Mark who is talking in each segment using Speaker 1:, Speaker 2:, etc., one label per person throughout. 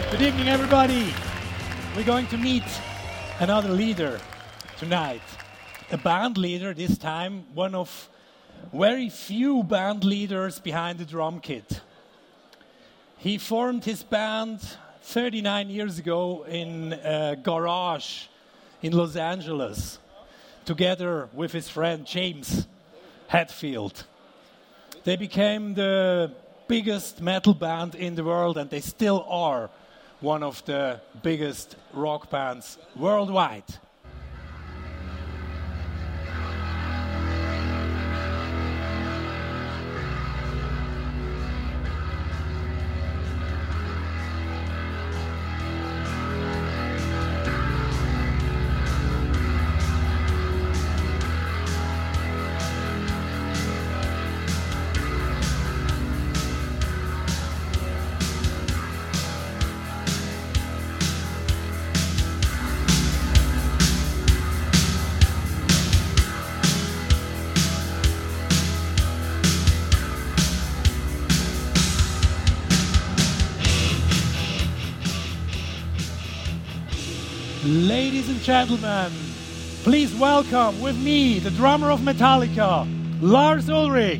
Speaker 1: Good evening, everybody. We're going to meet another leader tonight. A band leader, this time one of very few band leaders behind the drum kit. He formed his band 39 years ago in a garage in Los Angeles, together with his friend James Hetfield. They became the biggest metal band in the world, and they still are one of the biggest rock bands worldwide. Ladies and gentlemen, please welcome with me the drummer of Metallica, Lars Ulrich.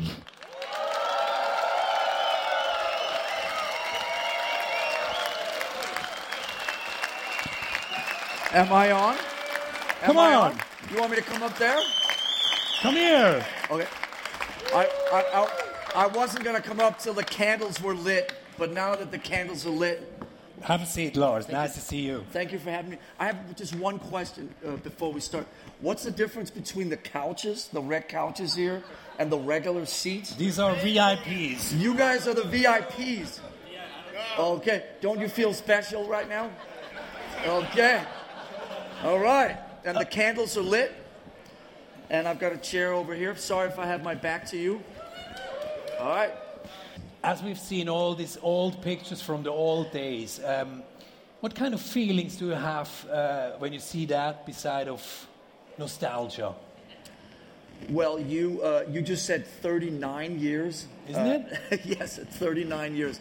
Speaker 2: Am I on?
Speaker 1: Come on.
Speaker 2: You want me to come up there?
Speaker 1: Come here.
Speaker 2: Okay. I wasn't going to come up till the candles were lit, but now that the candles are lit...
Speaker 1: Have a seat, Lars. Nice to see you.
Speaker 2: Thank you for having me. I have just one question before we start. What's the difference between the couches, the red couches here, and the regular seats?
Speaker 1: These are VIPs.
Speaker 2: You guys are the VIPs. Okay. Don't you feel special right now? Okay. All right. And the candles are lit. And I've got a chair over here. Sorry if I have my back to you. All right.
Speaker 1: As we've seen all these old pictures from the old days, what kind of feelings do you have when you see that beside of nostalgia?
Speaker 2: Well, you just said 39 years.
Speaker 1: Isn't it?
Speaker 2: Yes, it's 39 years.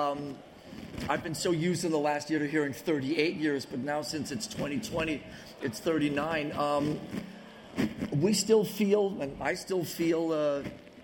Speaker 2: I've been so used in the last year to hearing 38 years, but now since it's 2020, it's 39. We still feel, and I still feel...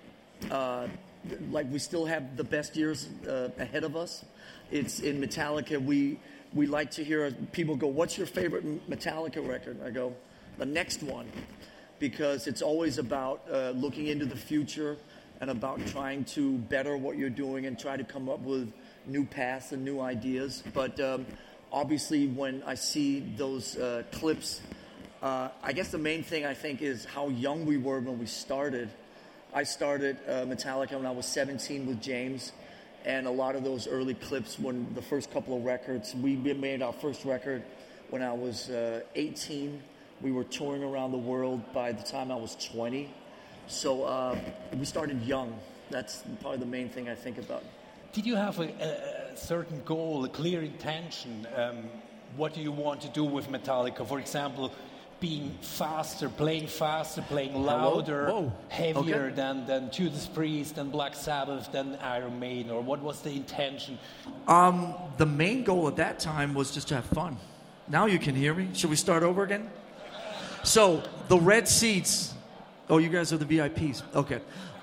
Speaker 2: like we still have the best years ahead of us. It's in Metallica. We like to hear people go, "What's your favorite Metallica record?" I go, "The next one," because it's always about looking into the future and about trying to better what you're doing and try to come up with new paths and new ideas. But obviously, when I see those clips, I guess the main thing I think is how young we were when we started. I started Metallica when I was 17 with James, and a lot of those early clips, when the first couple of records, we made our first record when I was 18. We were touring around the world by the time I was 20. So we started young. That's probably the main thing I think about.
Speaker 1: Did you have a certain goal, a clear intention? What do you want to do with Metallica? For example, being faster, playing louder, heavier than Judas Priest, than Black Sabbath, than Iron Maiden, or what was the intention?
Speaker 2: The main goal at that time was just to have fun. Now you can hear me. Should we start over again? So, the red seats... Oh, you guys are the VIPs. Okay.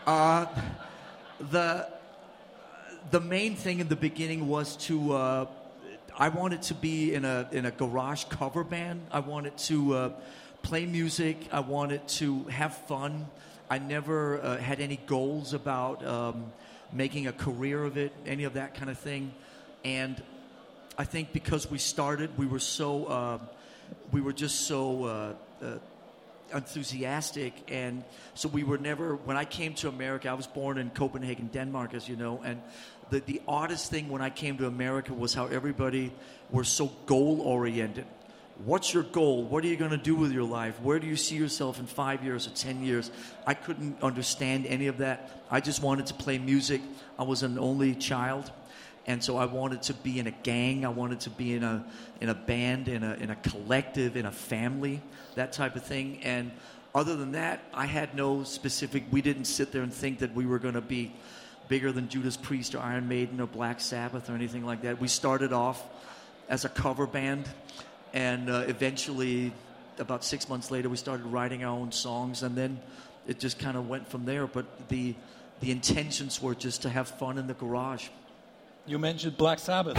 Speaker 2: The main thing in the beginning was to... I wanted to be in a garage cover band. I wanted to play music. I wanted to have fun. I never had any goals about making a career of it, any of that kind of thing. And I think because we started, we were just so enthusiastic, and so we were never. When I came to America, I was born in Copenhagen, Denmark, as you know, and the oddest thing when I came to America was how everybody were so goal-oriented. What's your goal? What are you going to do with your life? Where do you see yourself in 5 years or 10 years? I couldn't understand any of that. I just wanted to play music. I was an only child, and so I wanted to be in a gang. I wanted to be in a band, in a collective, in a family, that type of thing. And other than that, I had no specific. We didn't sit there and think that we were going to be bigger than Judas Priest or Iron Maiden or Black Sabbath or anything like that. We started off as a cover band, and eventually, about 6 months later, we started writing our own songs, and then it just kind of went from there. But the intentions were just to have fun in the garage.
Speaker 1: You mentioned Black Sabbath.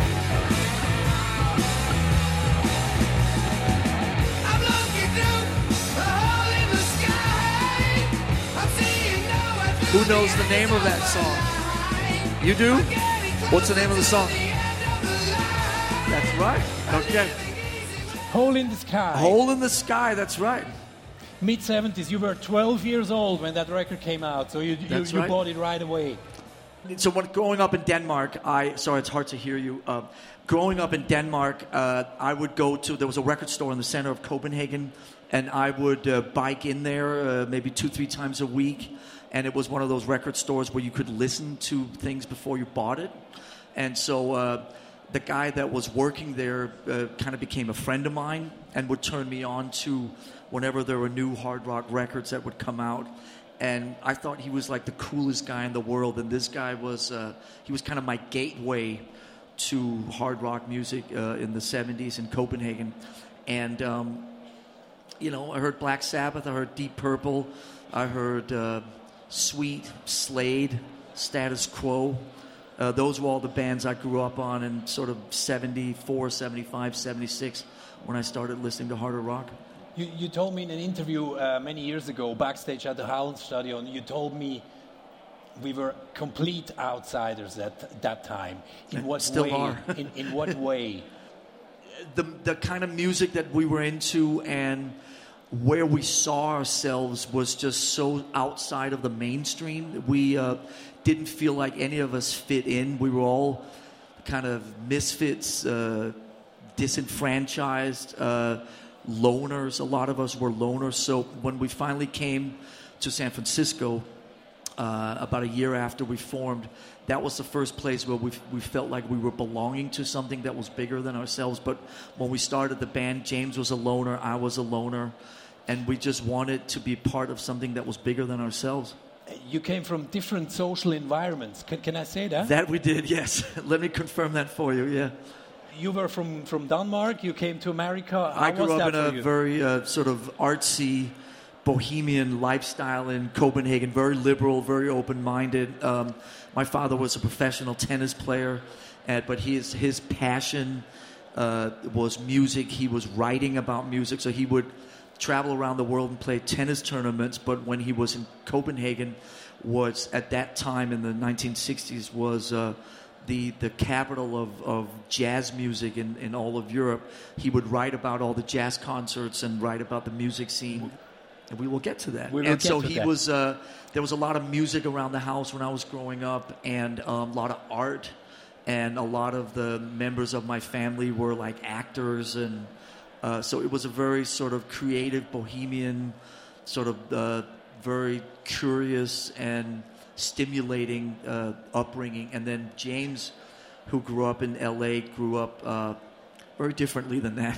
Speaker 2: Who knows the name of that song? You do? What's the name of the song? That's right. Okay.
Speaker 1: Hole in the Sky.
Speaker 2: Hole in the Sky, that's right.
Speaker 1: Mid-70s, you were 12 years old when that record came out, so you
Speaker 2: right.
Speaker 1: bought it right away.
Speaker 2: So when growing up in Denmark, sorry, it's hard to hear you. Growing up in Denmark, I would go to, there was a record store in the center of Copenhagen, and I would bike in there maybe 2-3 times a week. And it was one of those record stores where you could listen to things before you bought it. And so the guy that was working there kind of became a friend of mine and would turn me on to whenever there were new hard rock records that would come out. And I thought he was like the coolest guy in the world. And this guy was, he was kind of my gateway to hard rock music in the 70s in Copenhagen. And, you know, I heard Black Sabbath, I heard Deep Purple, I heard Sweet, Slade, Status Quo. Those were all the bands I grew up on in sort of 74, 75, 76 when I started listening to harder rock.
Speaker 1: You told me in an interview many years ago, backstage at the Hallenstadion, you told me we were complete outsiders at that time. In what
Speaker 2: Still
Speaker 1: way?
Speaker 2: are.
Speaker 1: in what way?
Speaker 2: The kind of music that we were into and where we saw ourselves was just so outside of the mainstream. We didn't feel like any of us fit in. We were all kind of misfits, disenfranchised, loners. A lot of us were loners. So when we finally came to San Francisco, about a year after we formed, that was the first place where we felt like we were belonging to something that was bigger than ourselves. But when we started the band, James was a loner, I was a loner, and we just wanted to be part of something that was bigger than ourselves.
Speaker 1: You came from different social environments. Can I say that?
Speaker 2: That we did, yes. Let me confirm that for you, yeah.
Speaker 1: You were from Denmark, you came to America.
Speaker 2: I grew up in a very sort of artsy, bohemian lifestyle in Copenhagen, very liberal, very open-minded. My father was a professional tennis player, but his passion was music. He was writing about music, so he would travel around the world and play tennis tournaments. But when he was in Copenhagen, was at that time in the 1960s was the capital of jazz music in all of Europe. He would write about all the jazz concerts and write about the music scene. And we will get to that. There was a lot of music around the house when I was growing up, and a lot of art, and a lot of the members of my family were like actors, and so it was a very sort of creative, bohemian, sort of very curious and stimulating upbringing. And then James, who grew up in L.A., grew up very differently than that.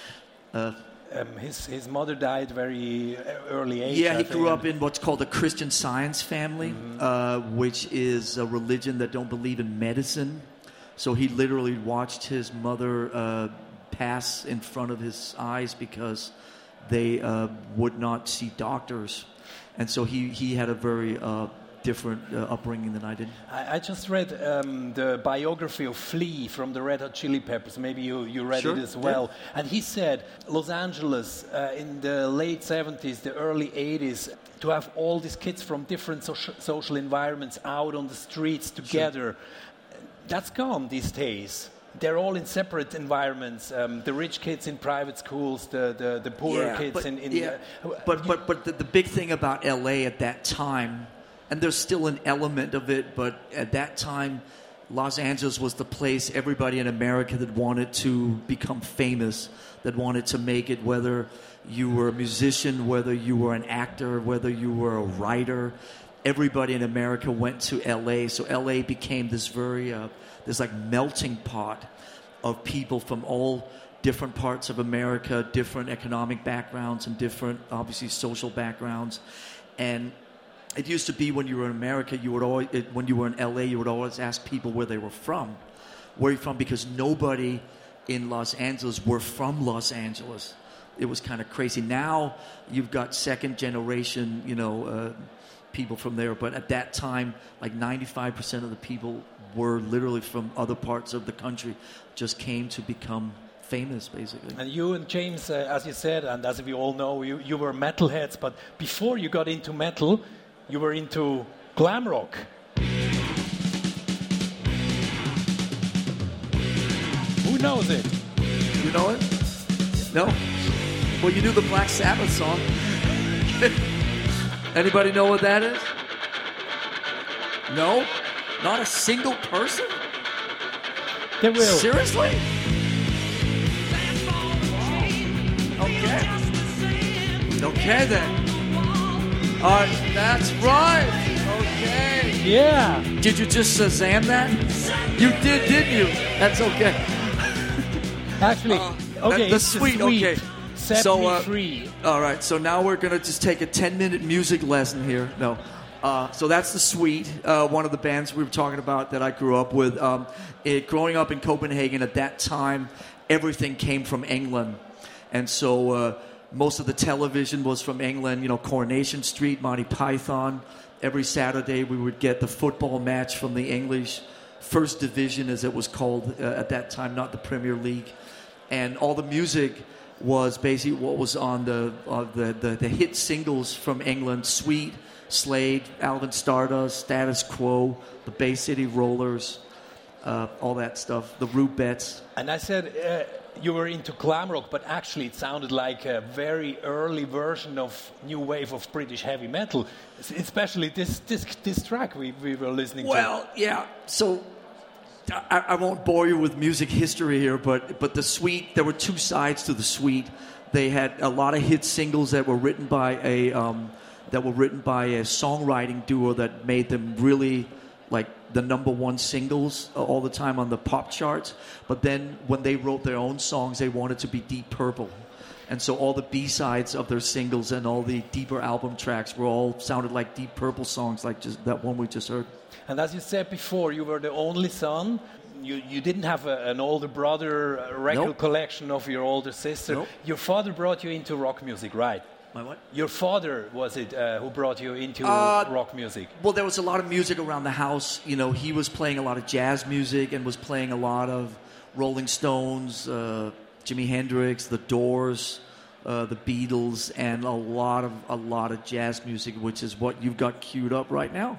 Speaker 1: His mother died very early age.
Speaker 2: Yeah, he grew up in what's called a Christian Science family, which is a religion that don't believe in medicine. So he literally watched his mother pass in front of his eyes because they would not see doctors. And so he had a very different upbringing than I did.
Speaker 1: I just read the biography of Flea from the Red Hot Chili Peppers. Maybe you read it as well. Yeah. And he said Los Angeles in the late 70s, the early 80s, to have all these kids from different social environments out on the streets together, that's gone these days. They're all in separate environments. The rich kids in private schools, the poorer kids in
Speaker 2: But the big thing about LA at that time, and there's still an element of it, but at that time, Los Angeles was the place everybody in America that wanted to become famous, that wanted to make it, whether you were a musician, whether you were an actor, whether you were a writer. Everybody in America went to LA. So LA became this very, this like melting pot of people from all different parts of America, different economic backgrounds and different, obviously, social backgrounds. And it used to be when you were in America, when you were in LA, you would always ask people where they were from. Where are you from? Because nobody in Los Angeles were from Los Angeles. It was kind of crazy. Now you've got second generation, people from there. But at that time, like 95% of the people were literally from other parts of the country, just came to become famous, basically.
Speaker 1: And you and James, as you said, and as we all know, you were metalheads. But before you got into metal, you were into glam rock. Who knows it?
Speaker 2: You know it? No? Well, you knew the Black Sabbath song. Anybody know what that is? No? Not a single person?
Speaker 1: They will.
Speaker 2: Seriously? Okay. Okay then. That's right. Okay.
Speaker 1: Yeah.
Speaker 2: Did you just Shazam that? You did, didn't you? That's okay.
Speaker 1: Actually, okay,
Speaker 2: the
Speaker 1: it's
Speaker 2: Sweet,
Speaker 1: the Sweet.
Speaker 2: okay.
Speaker 1: Set
Speaker 2: So,
Speaker 1: me free.
Speaker 2: All right, so now we're going to just take a 10-minute music lesson here. No. So that's the Sweet, one of the bands we were talking about that I grew up with. Growing up in Copenhagen at that time, everything came from England. And so most of the television was from England, Coronation Street, Monty Python. Every Saturday we would get the football match from the English First Division, as it was called at that time, not the Premier League. And all the music was basically what was on the hit singles from England: Sweet, Slade, Alvin Stardust, Status Quo, the Bay City Rollers, all that stuff, the Rubettes.
Speaker 1: And I said you were into glam rock, but actually it sounded like a very early version of new wave of British heavy metal, especially this track we were listening to.
Speaker 2: Well, yeah, so I won't bore you with music history here, but the Sweet, there were two sides to the Sweet. They had a lot of hit singles that were written by a songwriting duo that made them really like the number one singles all the time on the pop charts. But then when they wrote their own songs, they wanted to be Deep Purple. And so all the B-sides of their singles and all the deeper album tracks were all sounded like Deep Purple songs, like just that one we just heard.
Speaker 1: And as you said before, you were the only son. You didn't have an older brother, a record
Speaker 2: Nope.
Speaker 1: collection of your older sister.
Speaker 2: Nope.
Speaker 1: Your father brought you into rock music, right?
Speaker 2: My what?
Speaker 1: Your father, was it, who brought you into rock music?
Speaker 2: Well, there was a lot of music around the house. He was playing a lot of jazz music and was playing a lot of Rolling Stones, Jimi Hendrix, The Doors, the Beatles, and a lot of jazz music, which is what you've got queued up right now.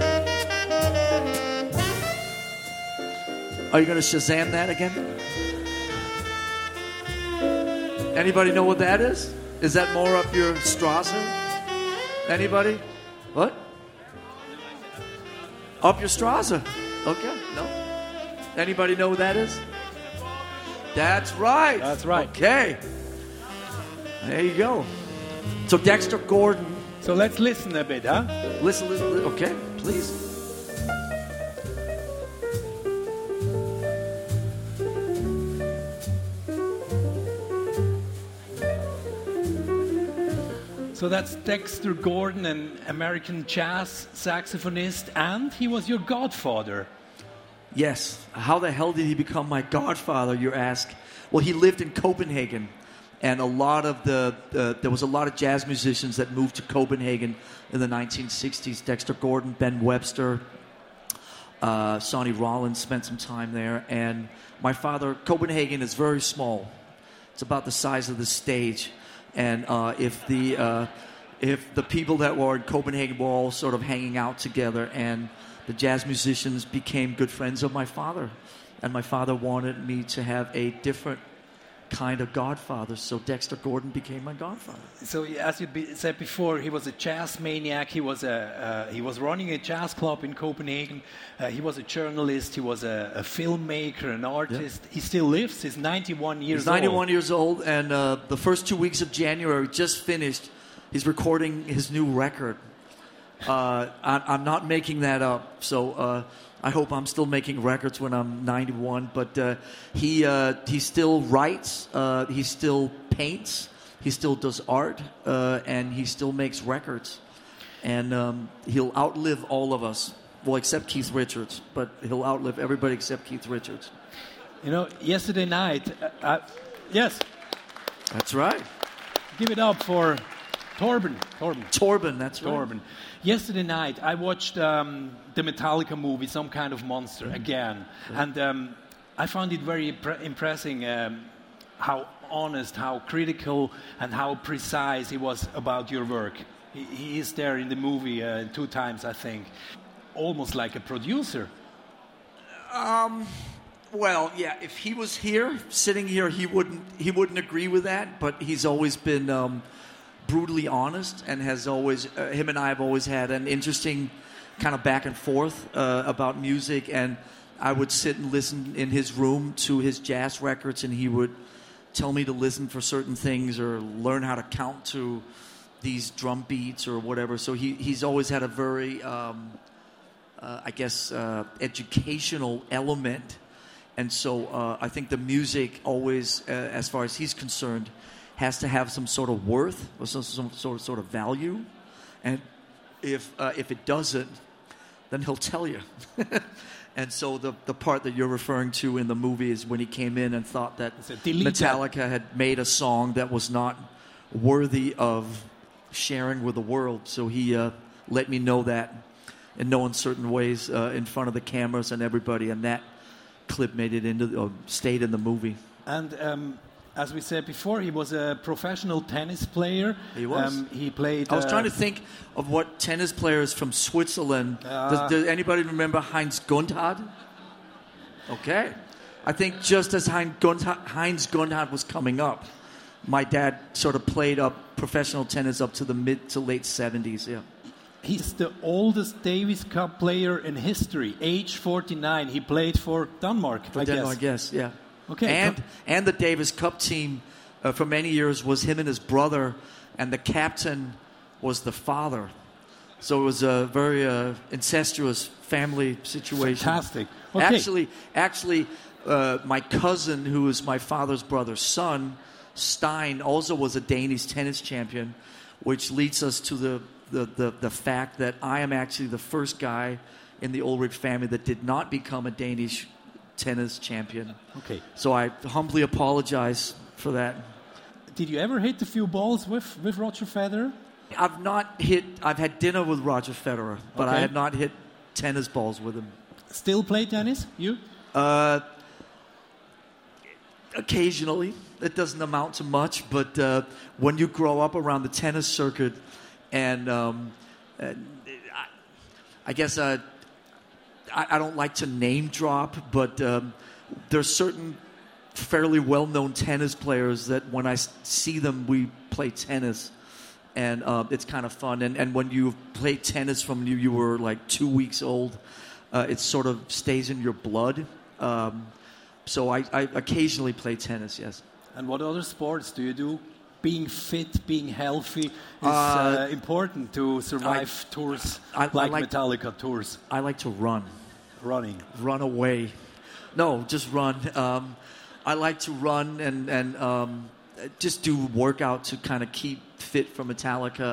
Speaker 2: Are you going to Shazam that again? Anybody know what that is? Is that more up your Strasse? Anybody? What? Up your Strasse. Okay, no. Anybody know what that is? That's right.
Speaker 1: That's right.
Speaker 2: Okay. There you go. So Dexter Gordon.
Speaker 1: So let's listen a bit, huh?
Speaker 2: Listen. Okay, please.
Speaker 1: So that's Dexter Gordon, an American jazz saxophonist, and he was your godfather.
Speaker 2: Yes. How the hell did he become my godfather, you ask? Well, he lived in Copenhagen, and there was a lot of jazz musicians that moved to Copenhagen in the 1960s. Dexter Gordon, Ben Webster, Sonny Rollins spent some time there. And my father, Copenhagen is very small. It's about the size of the stage. And if the people that were in Copenhagen were all sort of hanging out together, and the jazz musicians became good friends of my father, and my father wanted me to have a different kind of godfather, so Dexter Gordon became my godfather.
Speaker 1: So, as you said before, he was a jazz maniac. He was running a jazz club in Copenhagen. He was a journalist. He was a filmmaker, an artist. Yeah. He still lives. He's 91 years old.
Speaker 2: He's 91 years old, and the first 2 weeks of January just finished. He's recording his new record. I'm not making that up, so I hope I'm still making records when I'm 91. But he still writes, he still paints, he still does art, and he still makes records. And he'll outlive all of us. Well, except Keith Richards, but he'll outlive everybody except Keith Richards.
Speaker 1: You know, yesterday night, yes,
Speaker 3: That's right.
Speaker 1: give it up for Torben.
Speaker 3: Torben, that's right.
Speaker 1: Torben. Yesterday night, I watched the Metallica movie, Some Kind of Monster, again. And I found it very impressing how honest, how critical, and how precise he was about your work. He is there in the movie 2 times, I think. Almost like a producer.
Speaker 3: Well, yeah, if he was here, sitting here, he wouldn't agree with that, but he's always been brutally honest and has always, him and I have always had an interesting kind of back and forth about music, and I would sit and listen in his room to his jazz records, and he would tell me to listen for certain things or learn how to count to these drum beats or whatever. So he's always had a very, educational element. And so I think the music always, as far as he's concerned, has to have some sort of worth or some sort of value. And if it doesn't, then he'll tell you. And so the part that you're referring to in the movie is when he came in and thought that Metallica had made a song that was not worthy of sharing with the world. So he let me know that in no uncertain ways in front of the cameras and everybody, and that clip made it stayed in the movie.
Speaker 1: And as we said before, he was a professional tennis player.
Speaker 3: He was.
Speaker 1: He played.
Speaker 3: I was trying to think of what tennis players from Switzerland. Does anybody remember Heinz Gundhard? Okay. I think just as Heinz Gundhard was coming up, my dad sort of played up professional tennis up to the mid to late 70s. Yeah.
Speaker 1: He's the oldest Davis Cup player in history, age 49. He played for Denmark, I guess.
Speaker 3: Yeah.
Speaker 1: Okay.
Speaker 3: And the Davis Cup team for many years was him and his brother, and the captain was the father. So it was a very incestuous family situation.
Speaker 1: Fantastic. Okay.
Speaker 3: Actually, my cousin, who is my father's brother's son, Stein, also was a Danish tennis champion, which leads us to the fact that I am actually the first guy in the Ulrich family that did not become a Danish tennis champion.
Speaker 1: Okay.
Speaker 3: So I humbly apologize for that.
Speaker 1: Did you ever hit a few balls with Roger Federer?
Speaker 3: I've had dinner with Roger Federer, but I had not hit tennis balls with him.
Speaker 1: Still play tennis? You?
Speaker 3: Occasionally. It doesn't amount to much, but when you grow up around the tennis circuit, and I guess I don't like to name drop, but there's certain fairly well-known tennis players that when I see them, we play tennis, and it's kind of fun. And when you play tennis from you were like 2 weeks old, it sort of stays in your blood. So I occasionally play tennis, yes.
Speaker 1: And what other sports do you do? Being fit, being healthy is important to survive tours like Metallica tours.
Speaker 3: I like to run.
Speaker 1: Run
Speaker 3: away. No, just run. I like to run and just do workout to kind of keep fit for Metallica.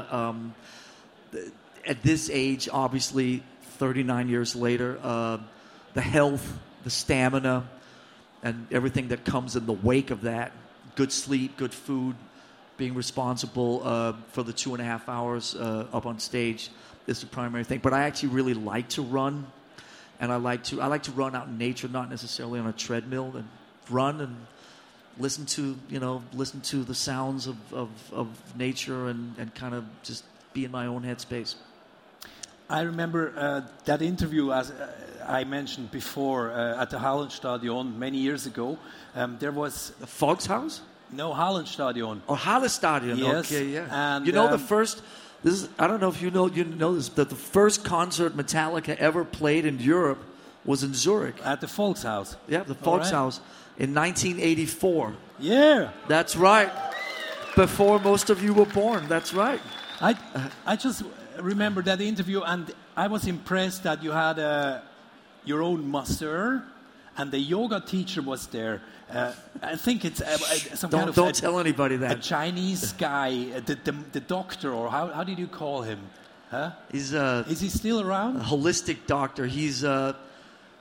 Speaker 3: At this age, obviously, 39 years later, the health, the stamina, and everything that comes in the wake of that, good sleep, good food, being responsible for the 2.5 hours up on stage is the primary thing. But I actually really like to run, and I like to run out in nature, not necessarily on a treadmill, and run and listen to the sounds of nature and kind of just be in my own headspace.
Speaker 1: I remember that interview, as I mentioned before, at the Hallenstadion many years ago. There was
Speaker 3: the Volkshaus?
Speaker 1: No, Hallenstadion.
Speaker 3: Oh, Hallenstadion.
Speaker 1: Yes.
Speaker 3: Okay, yeah.
Speaker 1: And
Speaker 3: the first. I don't know if you know this, that the first concert Metallica ever played in Europe was in Zurich
Speaker 1: at the Volkshaus.
Speaker 3: Yeah, the Volkshaus in 1984.
Speaker 1: Yeah,
Speaker 3: that's right. Before most of you were born. That's right.
Speaker 1: I just remember that interview, and I was impressed that you had your own master, and the yoga teacher was there. I think it's some kind of...
Speaker 3: Don't tell anybody that.
Speaker 1: A Chinese guy, the doctor, or how did you call him? Huh?
Speaker 3: Is
Speaker 1: he still around?
Speaker 3: A holistic doctor. He's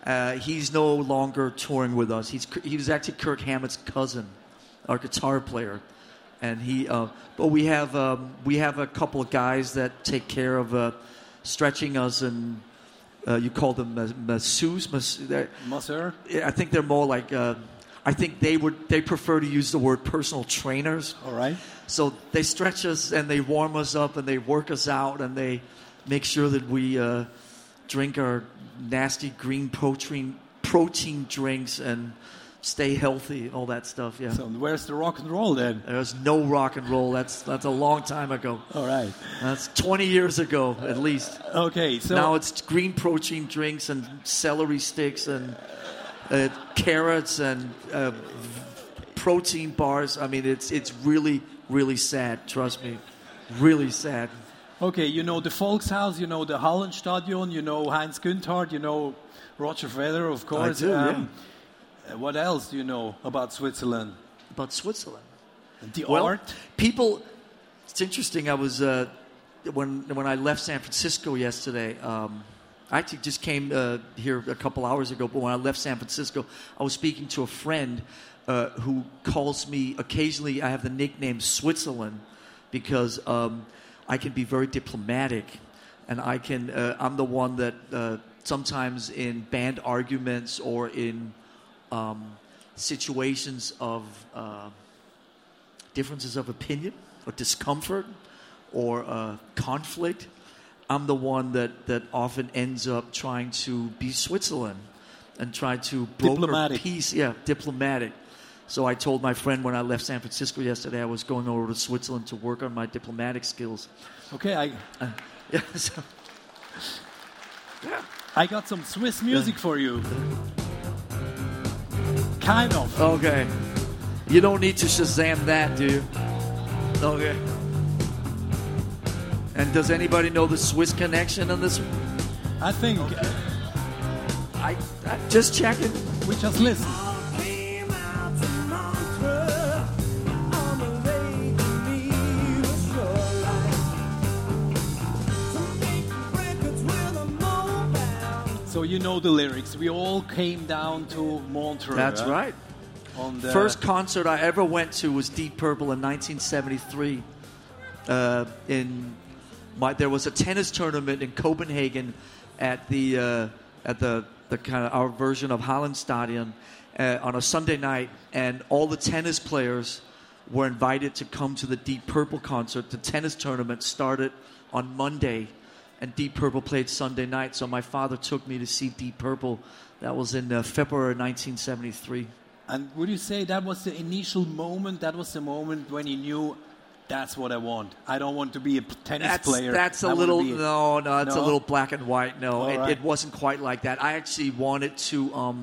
Speaker 3: He's no longer touring with us. He was actually Kirk Hammett's cousin, our guitar player, and but we have a couple of guys that take care of stretching us, and you call them masseurs.
Speaker 1: Masseur?
Speaker 3: I think they're more like. I think they prefer to use the word personal trainers.
Speaker 1: All right.
Speaker 3: So they stretch us and they warm us up and they work us out and they make sure that we drink our nasty green protein drinks and stay healthy, all that stuff. Yeah.
Speaker 1: So where's the rock and roll then?
Speaker 3: There's no rock and roll. That's a long time ago.
Speaker 1: All right.
Speaker 3: That's 20 years ago at least.
Speaker 1: Okay. So
Speaker 3: now it's green protein drinks and celery sticks and carrots and protein bars. I mean, it's really, really sad. Trust me, really sad.
Speaker 1: Okay, you know the Volkshaus, you know the Hallenstadion, you know Heinz Günthardt, you know Roger Federer, of course.
Speaker 3: I do, yeah.
Speaker 1: What else do you know about Switzerland?
Speaker 3: About Switzerland?
Speaker 1: The art?
Speaker 3: People. It's interesting. I was when I left San Francisco yesterday. I actually just came here a couple hours ago, but when I left San Francisco, I was speaking to a friend who calls me occasionally. I have the nickname Switzerland because I can be very diplomatic, and I'm the one that sometimes in band arguments or in situations of differences of opinion or discomfort or conflict, I'm the one that often ends up trying to be Switzerland and try to broker peace. Yeah, diplomatic. So I told my friend when I left San Francisco yesterday I was going over to Switzerland to work on my diplomatic skills.
Speaker 1: Okay,
Speaker 3: yeah.
Speaker 1: I got some Swiss music for you. Kind of.
Speaker 3: Okay. You don't need to Shazam that, do you? Okay. And does anybody know the Swiss connection on this one?
Speaker 1: I think.
Speaker 3: Okay. I just checking.
Speaker 1: We just listen. So you know the lyrics. We all came down to Montreux.
Speaker 3: That's right.
Speaker 1: On the
Speaker 3: first concert I ever went to was Deep Purple in 1973. There was a tennis tournament in Copenhagen at the kind of our version of Hallenstadion on a Sunday night, and all the tennis players were invited to come to the Deep Purple concert. The tennis tournament started on Monday, and Deep Purple played Sunday night. So my father took me to see Deep Purple. That was in February 1973.
Speaker 1: And would you say that was the initial moment? That was the moment when you knew, that's what I want. I don't want to be a tennis player.
Speaker 3: That's a little no. It's a little black and white. No, it wasn't quite like that. I actually wanted to.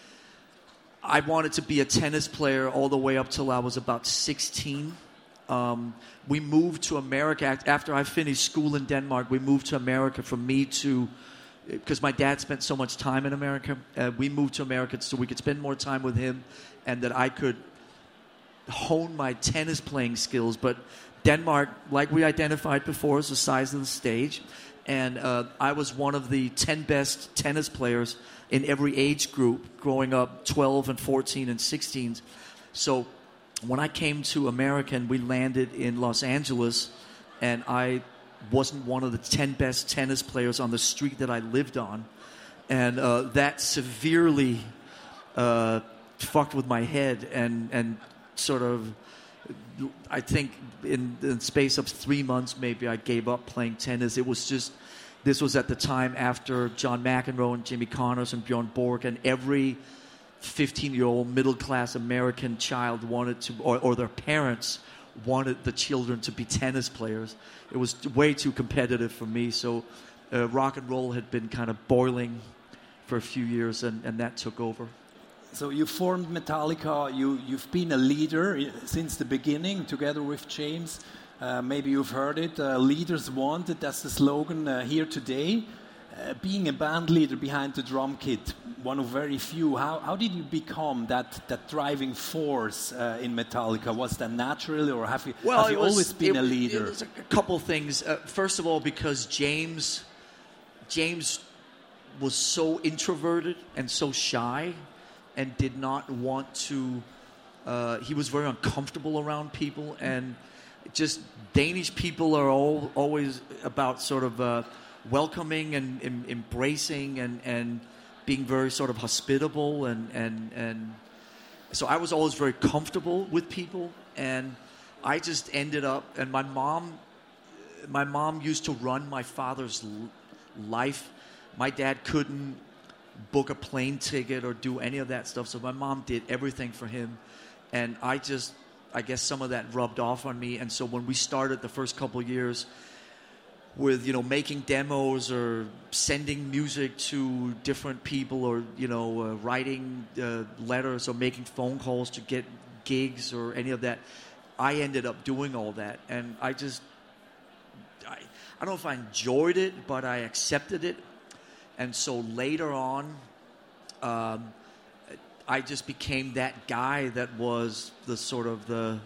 Speaker 3: I wanted to be a tennis player all the way up till I was about 16. We moved to America after I finished school in Denmark. We moved to America for me to, because my dad spent so much time in America. We moved to America so we could spend more time with him, and that I could hone my tennis playing skills. But Denmark, like we identified before, is the size of the stage, and I was one of the 10 best tennis players in every age group growing up, 12 and 14 and 16. So when I came to America and we landed in Los Angeles, and I wasn't one of the 10 best tennis players on the street that I lived on, and that severely fucked with my head, and sort of, I think in the space of 3 months maybe I gave up playing tennis. This was at the time after John McEnroe and Jimmy Connors and Bjorn Borg, and every 15-year-old middle-class American child wanted to, or their parents wanted the children to be tennis players. It was way too competitive for me, so rock and roll had been kind of boiling for a few years, and that took over.
Speaker 1: So you formed Metallica. You've been a leader since the beginning, together with James. Maybe you've heard it. Leaders wanted. That's the slogan here today. Being a band leader behind the drum kit, one of very few. How did you become that driving force in Metallica? Was that naturally, or have you always been a leader?
Speaker 3: It was a couple things. First of all, because James was so introverted and so shy and did not want to, he was very uncomfortable around people, and just Danish people are always about sort of welcoming and embracing and being very sort of hospitable, and so I was always very comfortable with people, and I just ended up, and my mom used to run my father's life. My dad couldn't book a plane ticket or do any of that stuff, so my mom did everything for him, and I guess some of that rubbed off on me. And so when we started the first couple of years with, you know, making demos or sending music to different people, or, you know, writing letters or making phone calls to get gigs or any of that, I ended up doing all that. And I don't know if I enjoyed it, but I accepted it. And so later on, I just became that guy that was the sort of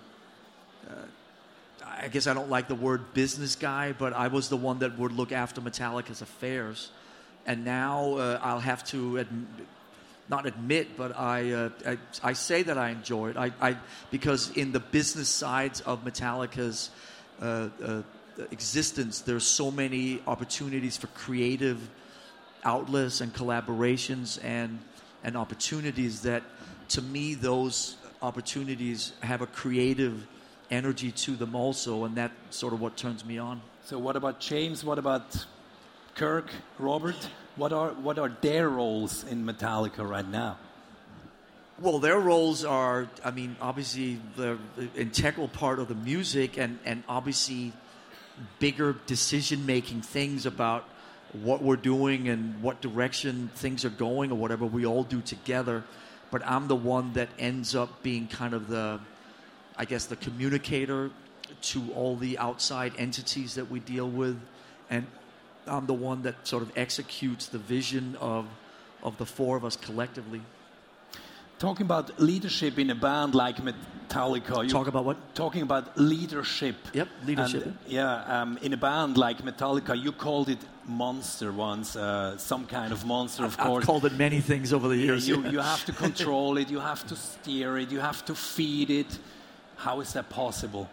Speaker 3: I guess I don't like the word business guy, but I was the one that would look after Metallica's affairs. And now I'll have to not admit, but I say that I enjoy it. Because in the business sides of Metallica's existence, there's so many opportunities for creative outlets and collaborations and opportunities that, to me, those opportunities have a creative energy to them also, and that's sort of what turns me on.
Speaker 1: So what about James? What about Kirk, Robert? What are their roles in Metallica right now?
Speaker 3: Well, their roles are, I mean, obviously the integral part of the music, and obviously bigger decision-making things about what we're doing and what direction things are going or whatever. We all do together. But I'm the one that ends up being kind of the communicator to all the outside entities that we deal with. And I'm the one that sort of executes the vision of the four of us collectively.
Speaker 1: Talking about leadership in a band like Metallica.
Speaker 3: Talk about what?
Speaker 1: Talking about leadership.
Speaker 3: Yep, leadership.
Speaker 1: And, in a band like Metallica, you called it monster once, some kind of monster, of course.
Speaker 3: I've called it many things over the years.
Speaker 1: You have to control it, you have to steer it, you have to feed it. How is that possible?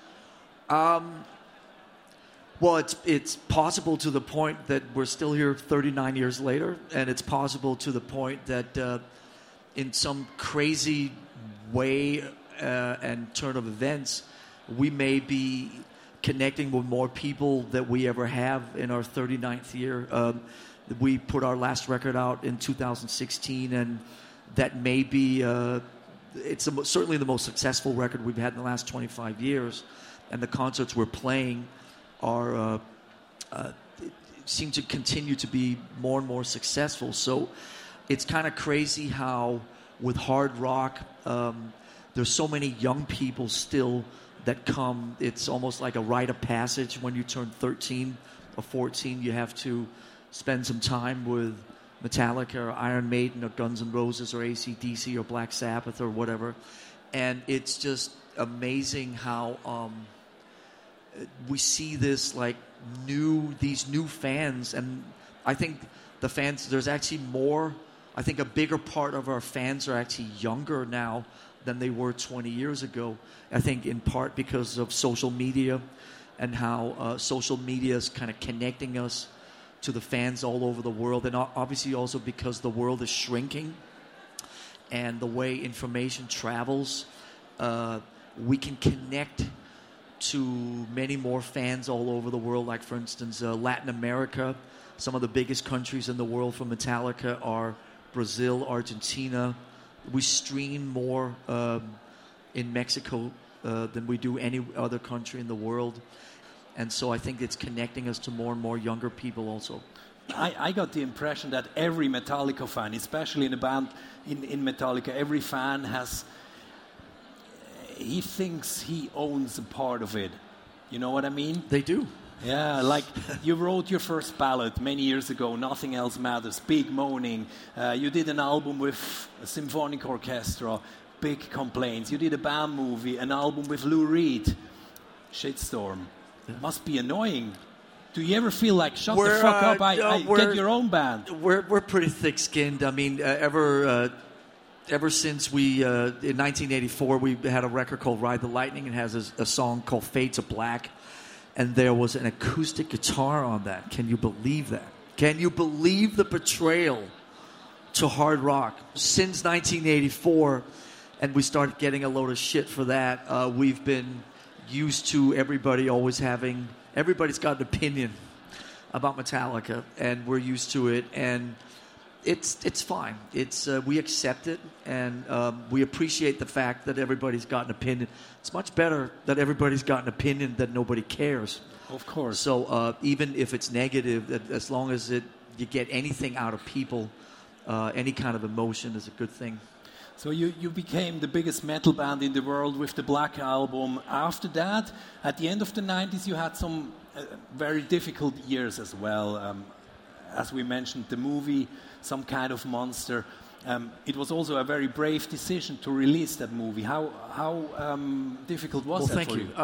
Speaker 3: Well, it's possible to the point that we're still here 39 years later, and it's possible to the point that in some crazy way and turn of events, we may be connecting with more people that we ever have in our 39th year. We put our last record out in 2016, and that may be it's certainly the most successful record we've had in the last 25 years, and the concerts we're playing are seem to continue to be more and more successful. So it's kind of crazy how with hard rock there's so many young people still that come. It's almost like a rite of passage. When you turn 13 or 14, you have to spend some time with Metallica or Iron Maiden or Guns N' Roses or AC/DC or Black Sabbath or whatever. And it's just amazing how we see this like these new fans. And I think the fans, there's actually more, I think a bigger part of our fans are actually younger now than they were 20 years ago. I think in part because of social media and how social media is kind of connecting us to the fans all over the world, and obviously also because the world is shrinking and the way information travels, we can connect to many more fans all over the world. Like, for instance, Latin America, some of the biggest countries in the world for Metallica are Brazil, Argentina. We stream more in Mexico than we do any other country in the world. And so I think it's connecting us to more and more younger people also.
Speaker 1: I got the impression that every Metallica fan, especially in a band in Metallica, every fan he thinks he owns a part of it. You know what I mean?
Speaker 3: They do.
Speaker 1: Yeah, like you wrote your first ballad many years ago, Nothing Else Matters, big moaning. You did an album with a symphonic orchestra, big complaints. You did a band movie, an album with Lou Reed, shitstorm. Yeah. Must be annoying. Do you ever feel like, shut the fuck up, I get your own band?
Speaker 3: We're pretty thick-skinned. I mean, ever since we, in 1984, we had a record called Ride the Lightning. It has a song called Fade to Black. And there was an acoustic guitar on that. Can you believe that? Can you believe the betrayal to hard rock? Since 1984, and we started getting a load of shit for that, we've been used to everybody's got an opinion about Metallica, and we're used to it, and it's fine. We accept it, and we appreciate the fact that everybody's got an opinion. It's much better that everybody's got an opinion that nobody cares.
Speaker 1: Of course.
Speaker 3: So even if it's negative, as long as you get anything out of people, any kind of emotion is a good thing.
Speaker 1: So you became the biggest metal band in the world with the Black Album. After that, at the end of the 90s, you had some very difficult years as well. As we mentioned, the movie, Some Kind of Monster. It was also a very brave decision to release that movie. How difficult was that for you?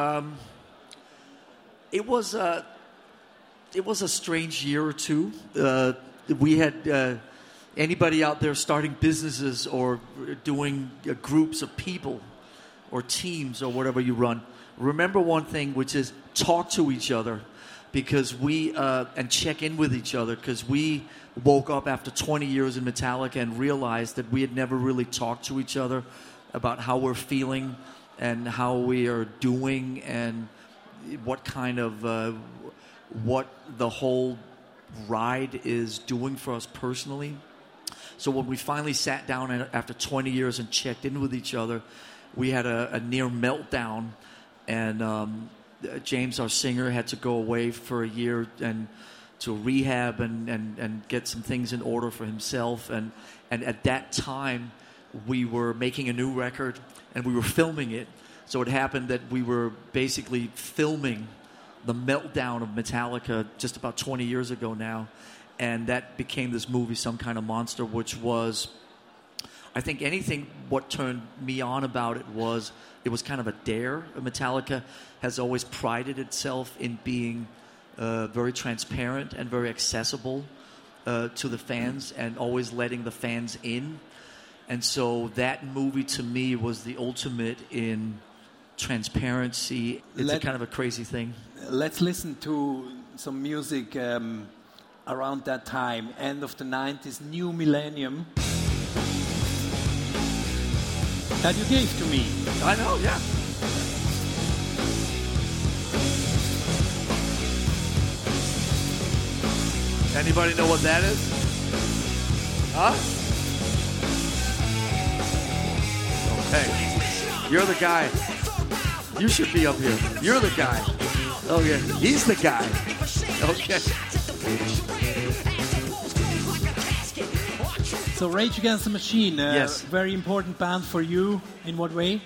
Speaker 3: It was a strange year or two. We had anybody out there starting businesses or doing groups of people or teams or whatever you run. Remember one thing, which is talk to each other, because and check in with each other, because we woke up after 20 years in Metallica and realized that we had never really talked to each other about how we're feeling and how we are doing and what kind of what the whole ride is doing for us personally. So when we finally sat down after 20 years and checked in with each other, we had a near meltdown, and James, our singer, had to go away for a year and to rehab and get some things in order for himself. And at that time, we were making a new record and we were filming it. So it happened that we were basically filming the meltdown of Metallica just about 20 years ago now. And that became this movie, Some Kind of Monster, which was, I think what turned me on about it was kind of a dare. Metallica has always prided itself in being very transparent and very accessible to the fans and always letting the fans in. And so that movie to me was the ultimate in transparency. It's a kind of a crazy thing.
Speaker 1: Let's listen to some music around that time, end of the 90s, New Millennium, that you gave to me.
Speaker 3: I know, yeah. Anybody know what that is? Huh? Okay. You're the guy. You should be up here. You're the guy. Okay. He's the guy. Okay.
Speaker 1: So Rage Against the Machine,
Speaker 3: yes.
Speaker 1: Very important band for you. In what way?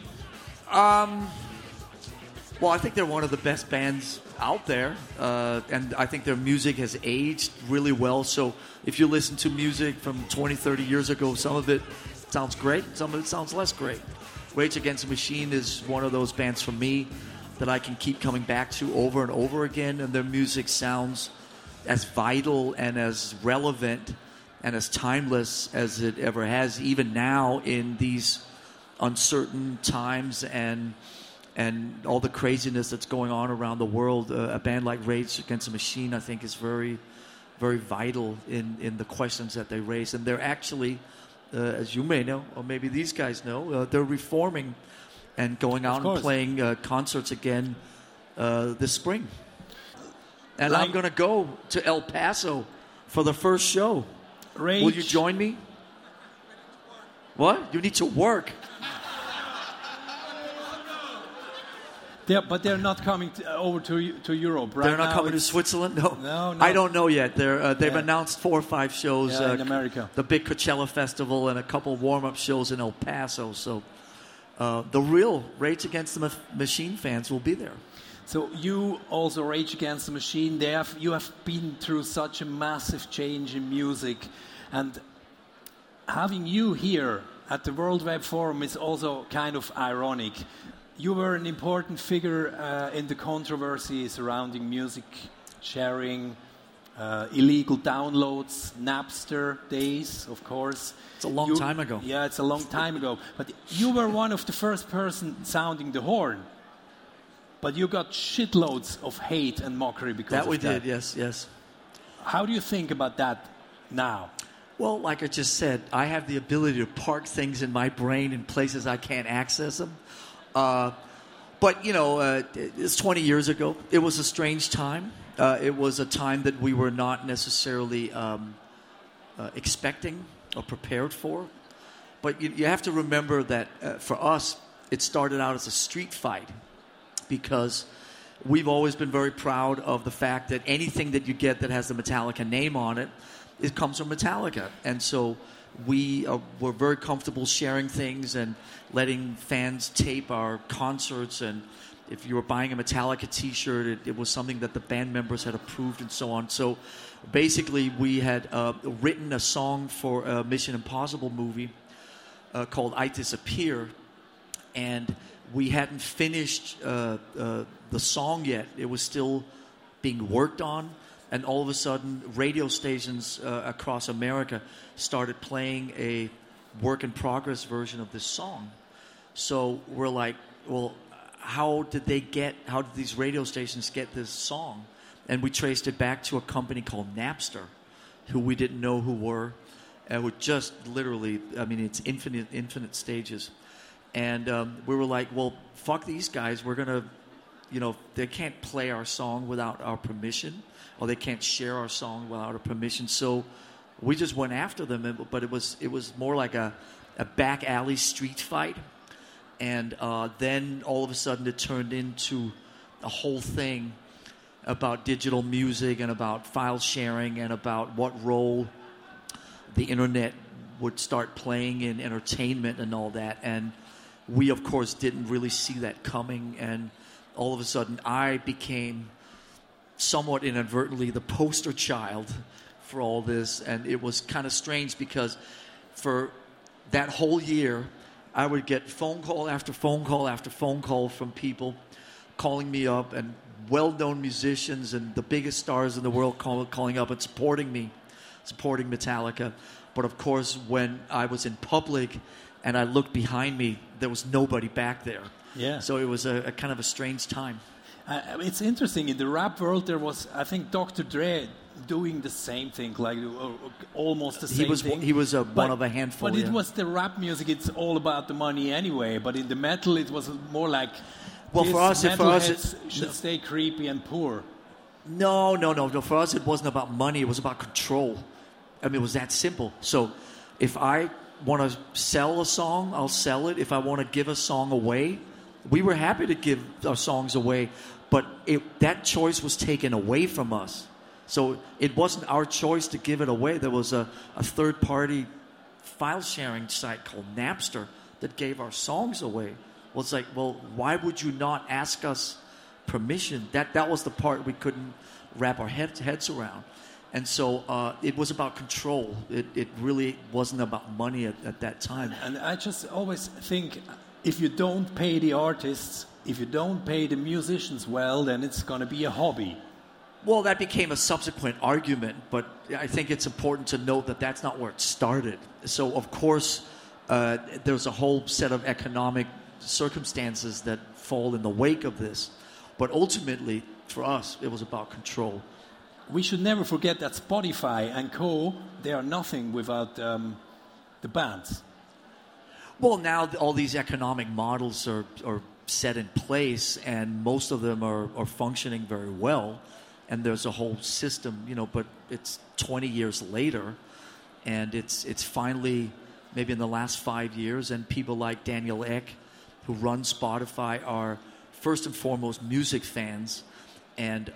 Speaker 3: Well, I think they're one of the best bands out there, and I think their music has aged really well. So if you listen to music from 20, 30 years ago, some of it sounds great, some of it sounds less great. Rage Against the Machine is one of those bands for me that I can keep coming back to over and over again, and their music sounds as vital and as relevant and as timeless as it ever has, even now in these uncertain times and all the craziness that's going on around the world. A band like Rage Against the Machine, I think, is very, very vital in the questions that they raise. And they're actually, as you may know, or maybe these guys know, they're reforming and going out and playing concerts again this spring. And I'm going to go to El Paso for the first show.
Speaker 1: Rage.
Speaker 3: Will you join me? What? You need to work.
Speaker 1: But they're not coming over to Europe, right?
Speaker 3: They're not coming to Switzerland?
Speaker 1: No.
Speaker 3: I don't know yet. They've announced 4 or 5 shows.
Speaker 1: In America.
Speaker 3: The big Coachella Festival and a couple warm-up shows in El Paso. So the real Rage Against the Machine fans will be there.
Speaker 1: So you also Rage Against the Machine. You have been through such a massive change in music. And having you here at the World Web Forum is also kind of ironic. You were an important figure in the controversy surrounding music sharing, illegal downloads, Napster days, of course.
Speaker 3: It's a long time ago.
Speaker 1: Yeah, it's a long time ago. But you were one of the first person sounding the horn. But you got shitloads of hate and mockery because of that.
Speaker 3: That we did, yes.
Speaker 1: How do you think about that now?
Speaker 3: Well, like I just said, I have the ability to park things in my brain in places I can't access them. But, it's 20 years ago. It was a strange time. It was a time that we were not necessarily expecting or prepared for. But you have to remember that for us, it started out as a street fight because we've always been very proud of the fact that anything that you get that has the Metallica name on it, it comes from Metallica. And so we're very comfortable sharing things and letting fans tape our concerts. And if you were buying a Metallica T-shirt, it was something that the band members had approved and so on. So basically, we had written a song for a Mission Impossible movie called I Disappear. And we hadn't finished the song yet. It was still being worked on. And all of a sudden, radio stations across America started playing a work-in-progress version of this song. So we're like, well, how did these radio stations get this song? And we traced it back to a company called Napster, who we didn't know who were. And would just literally, it's infinite stages. And we were like, well, fuck these guys. We're going to, they can't play our song without our permission, or they can't share our song without our permission. So we just went after them, but it was more like a back alley street fight. And then all of a sudden it turned into a whole thing about digital music and about file sharing and about what role the internet would start playing in entertainment and all that. And we, of course, didn't really see that coming. And all of a sudden I became somewhat inadvertently the poster child for all this. And it was kind of strange because for that whole year, I would get phone call after phone call after phone call from people calling me up, and well-known musicians and the biggest stars in the world calling up and supporting me, supporting Metallica. But of course, when I was in public and I looked behind me, there was nobody back there.
Speaker 1: Yeah.
Speaker 3: So it was a kind of a strange time.
Speaker 1: It's interesting. In the rap world, there was, I think, Dr. Dre doing the same thing, like almost the same thing.
Speaker 3: He was one of a handful.
Speaker 1: But it was the rap music. It's all about the money anyway. But in the metal, it was more like,
Speaker 3: well, for us,
Speaker 1: should stay creepy and poor.
Speaker 3: No. For us, it wasn't about money. It was about control. It was that simple. So if I want to sell a song, I'll sell it. If I want to give a song away, we were happy to give our songs away. But that choice was taken away from us. So it wasn't our choice to give it away. There was a third-party file-sharing site called Napster that gave our songs away. Well, it's like, well, why would you not ask us permission? That was the part we couldn't wrap our heads around. And so it was about control. It really wasn't about money at that time.
Speaker 1: And I just always think, if you don't pay the artists, if you don't pay the musicians well, then it's going to be a hobby.
Speaker 3: Well, that became a subsequent argument, but I think it's important to note that that's not where it started. So, of course, there's a whole set of economic circumstances that fall in the wake of this. But ultimately, for us, it was about control.
Speaker 1: We should never forget that Spotify and co, they are nothing without the bands.
Speaker 3: Well, now all these economic models are set in place, and most of them are functioning very well. And there's a whole system, but it's 20 years later, and it's finally, maybe in the last 5 years, and people like Daniel Ek, who run Spotify, are first and foremost music fans. And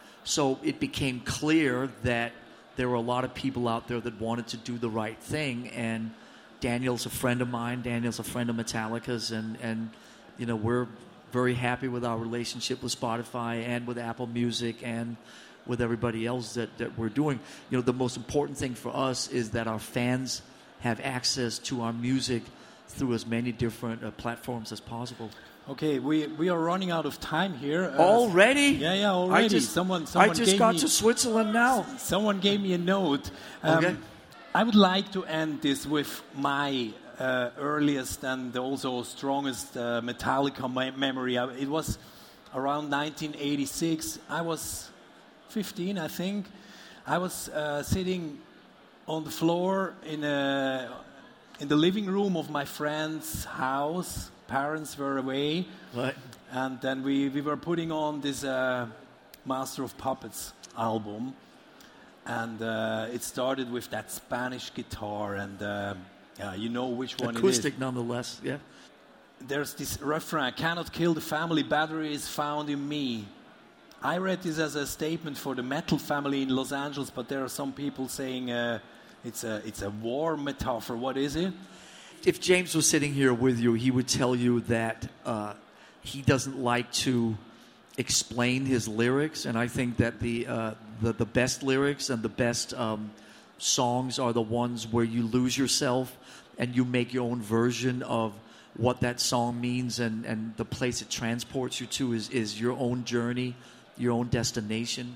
Speaker 3: so it became clear that there were a lot of people out there that wanted to do the right thing. And Daniel's a friend of mine. Daniel's a friend of Metallica's. And we're very happy with our relationship with Spotify and with Apple Music and with everybody else that we're doing. The most important thing for us is that our fans have access to our music through as many different platforms as possible.
Speaker 1: Okay, we are running out of time here.
Speaker 3: Already?
Speaker 1: Yeah, already.
Speaker 3: I just
Speaker 1: gave
Speaker 3: got
Speaker 1: me,
Speaker 3: to Switzerland now.
Speaker 1: Someone gave me a note.
Speaker 3: Okay.
Speaker 1: I would like to end this with my earliest and also strongest Metallica memory. It was around 1986. I was 15, I think. I was sitting on the floor in the living room of my friend's house. Parents were away.
Speaker 3: Right.
Speaker 1: And then we were putting on this Master of Puppets album. And it started with that Spanish guitar. And you know which one
Speaker 3: Acoustic
Speaker 1: it is.
Speaker 3: nonetheless, yeah.
Speaker 1: There's this refrain, cannot kill the family, battery is found in me. I read this as a statement for the metal family in Los Angeles, but there are some people saying it's a war metaphor. What is it?
Speaker 3: If James was sitting here with you, he would tell you that he doesn't like to explain his lyrics, and I think that the best lyrics and the best songs are the ones where you lose yourself and you make your own version of what that song means, and the place it transports you to is your own journey, your own destination.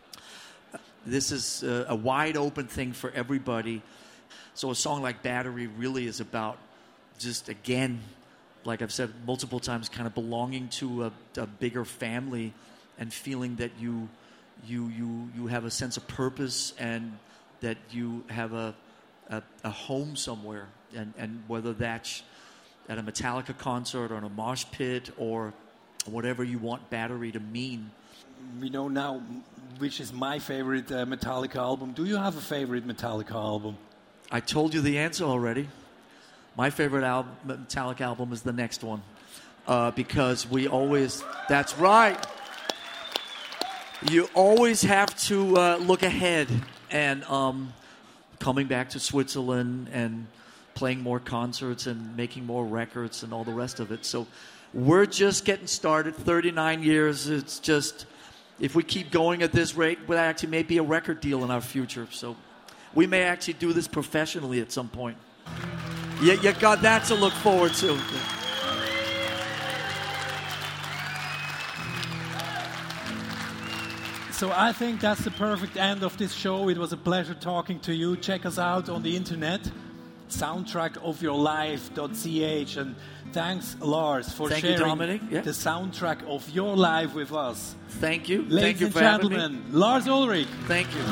Speaker 3: This is a wide open thing for everybody. So a song like Battery really is about just, again, like I've said multiple times, kind of belonging to a bigger family and feeling that you have a sense of purpose and that you have a home somewhere. And whether that's at a Metallica concert or in a mosh pit or whatever you want Battery to mean.
Speaker 1: We know now which is my favorite Metallica album. Do you have a favorite Metallica album?
Speaker 3: I told you the answer already. My favorite Metallica album is the next one. Because we always... That's right. You always have to look ahead. And coming back to Switzerland and playing more concerts and making more records and all the rest of it. So we're just getting started. 39 years. It's just... If we keep going at this rate, we'll actually may be a record deal in our future. So we may actually do this professionally at some point. You got that to look forward to.
Speaker 1: So I think that's the perfect end of this show. It was a pleasure talking to you. Check us out on the internet, soundtrackofyourlife.ch. And thanks, Lars, for sharing the soundtrack of your life with us.
Speaker 3: Thank you.
Speaker 1: Ladies and gentlemen, Lars Ulrich.
Speaker 3: Thank you.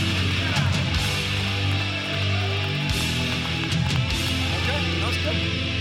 Speaker 4: Okay, that was good.